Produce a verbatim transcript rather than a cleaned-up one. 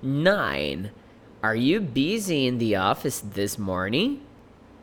Nine. Are you busy in the office this morning?